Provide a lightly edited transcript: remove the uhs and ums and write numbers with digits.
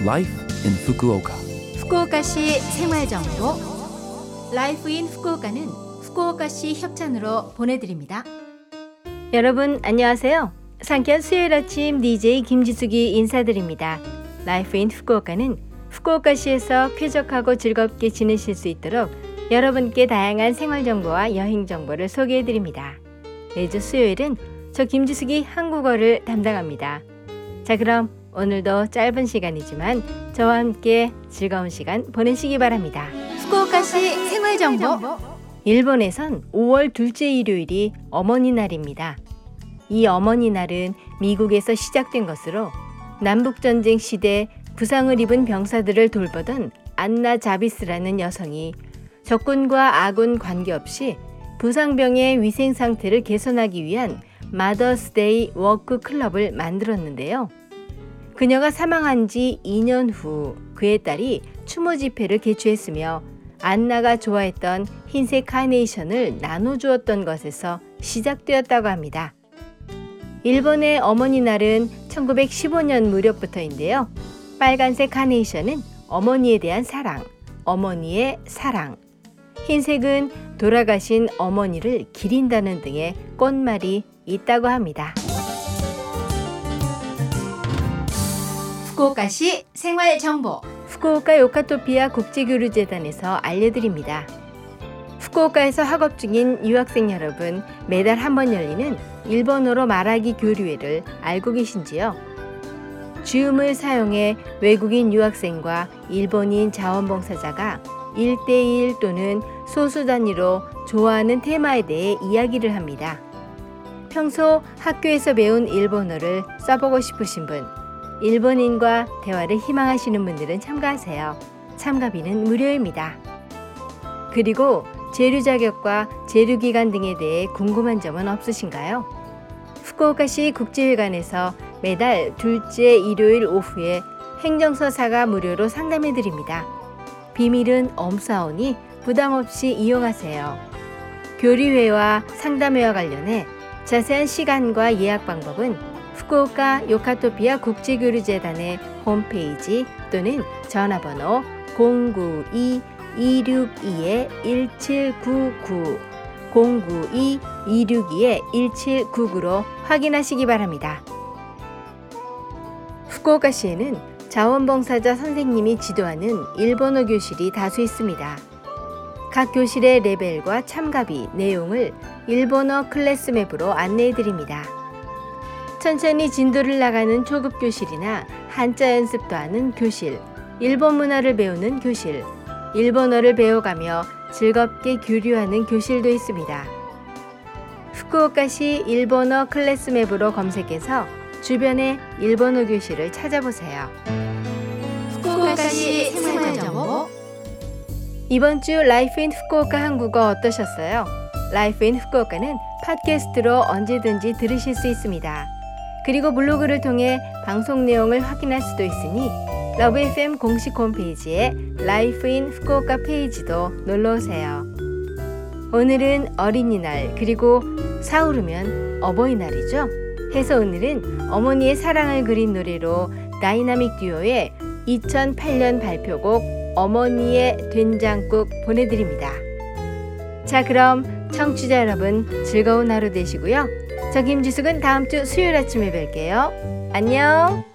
Life in Fukuoka. 후쿠오카시 생활정보 라이프 인 후쿠오카는 후쿠오카시 협찬으로 보내드립니다. 여러분 안녕하세요. 상쾌한 수요일 아침 DJ 김지숙이 인사드립니다. 라이프 인 후쿠오카는 후쿠오카시에서 쾌적하고 즐겁게 지내실 수 있도록 여러분께 다양한 생활정보와 여행정보를 소개해드립니다. 매주 수요일은 저 김지숙이 한국어를 담당합니다. 자, 그럼 오늘도 짧은 시간이지만 저와 함께 즐거운 시간 보내시기 바랍니다. 후쿠오카시 생활정보. 일본에선 5월 둘째 일요일이 어머니날입니다. 이 어머니날은 미국에서 시작된 것으로 남북전쟁 시대 부상을 입은 병사들을 돌보던 안나 자비스라는 여성이 적군과 아군 관계없이 부상병의 위생 상태를 개선하기 위한 마더스데이 워크 클럽을 만들었는데요. 그녀가 사망한 지 2년 후 그의 딸이 추모 집회를 개최했으며 안나가 좋아했던 흰색 카네이션을 나눠주었던 것에서 시작되었다고 합니다. 일본의 어머니날은 1915년 무렵부터인데요. 빨간색 카네이션은 어머니에 대한 사랑, 어머니의 사랑. 흰색은 돌아가신 어머니를 기린다는 등의 꽃말이 있다고 합니다. 후쿠오카시 생활정보. 후쿠오카 요카토피아 국제교류재단에서 알려드립니다. 후쿠오카에서 학업 중인 유학생 여러분, 매달 한 번 열리는 일본어로 말하기 교류회를 알고 계신지요? 줌을 사용해 외국인 유학생과 일본인 자원봉사자가 1대1 또는 소수 단위로 좋아하는 테마에 대해 이야기를 합니다. 평소 학교에서 배운 일본어를 써보고 싶으신 분, 일본인과 대화를 희망하시는 분들은 참가하세요. 참가비는 무료입니다. 그리고 재류 자격과 재류 기간 등에 대해 궁금한 점은 없으신가요? 후쿠오카시 국제회관에서 매달 둘째 일요일 오후에 행정서사가 무료로 상담해 드립니다. 비밀은 엄사오니 부담 없이 이용하세요. 교류회와 상담회와 관련해 자세한 시간과 예약 방법은 후쿠오카 요카토피아 국제교류재단의 홈페이지 또는 전화번호 092-262-1799 092-262-1799로 확인하시기 바랍니다. 후쿠오카시에는 자원봉사자 선생님이 지도하는 일본어 교실이 다수 있습니다. 각 교실의 레벨과 참가비, 내용을 일본어 클래스맵으로 안내해드립니다. 천천히 진도를 나가는 초급 교실이나 한자 연습도 하는 교실, 일본 문화를 배우는 교실, 일본어를 배워가며 즐겁게 교류하는 교실도 있습니다. 후쿠오카시 일본어 클래스맵으로 검색해서 주변의 일본어 교실을 찾아보세요. 후쿠오카시 생활정보. 이번 주 라이프 인 후쿠오카 한국어 어떠셨어요? 라이프 인 후쿠오카는 팟캐스트로 언제든지 들으실 수 있습니다. 그리고 블로그를 통해 방송 내용을 확인할 수도 있으니 러브 FM 공식 홈페이지에 라이프 인 후쿠오카 페이지도 놀러오세요. 오늘은 어린이날 그리고 사오르면 어버이날이죠. 해서 오늘은 어머니의 사랑을 그린 노래로 다이나믹 듀오의 2008년 발표곡 어머니의 된장국 보내드립니다. 자, 그럼 청취자 여러분 즐거운 하루 되시고요. 저 김지숙은 다음 주 수요일 아침에 뵐게요. 안녕.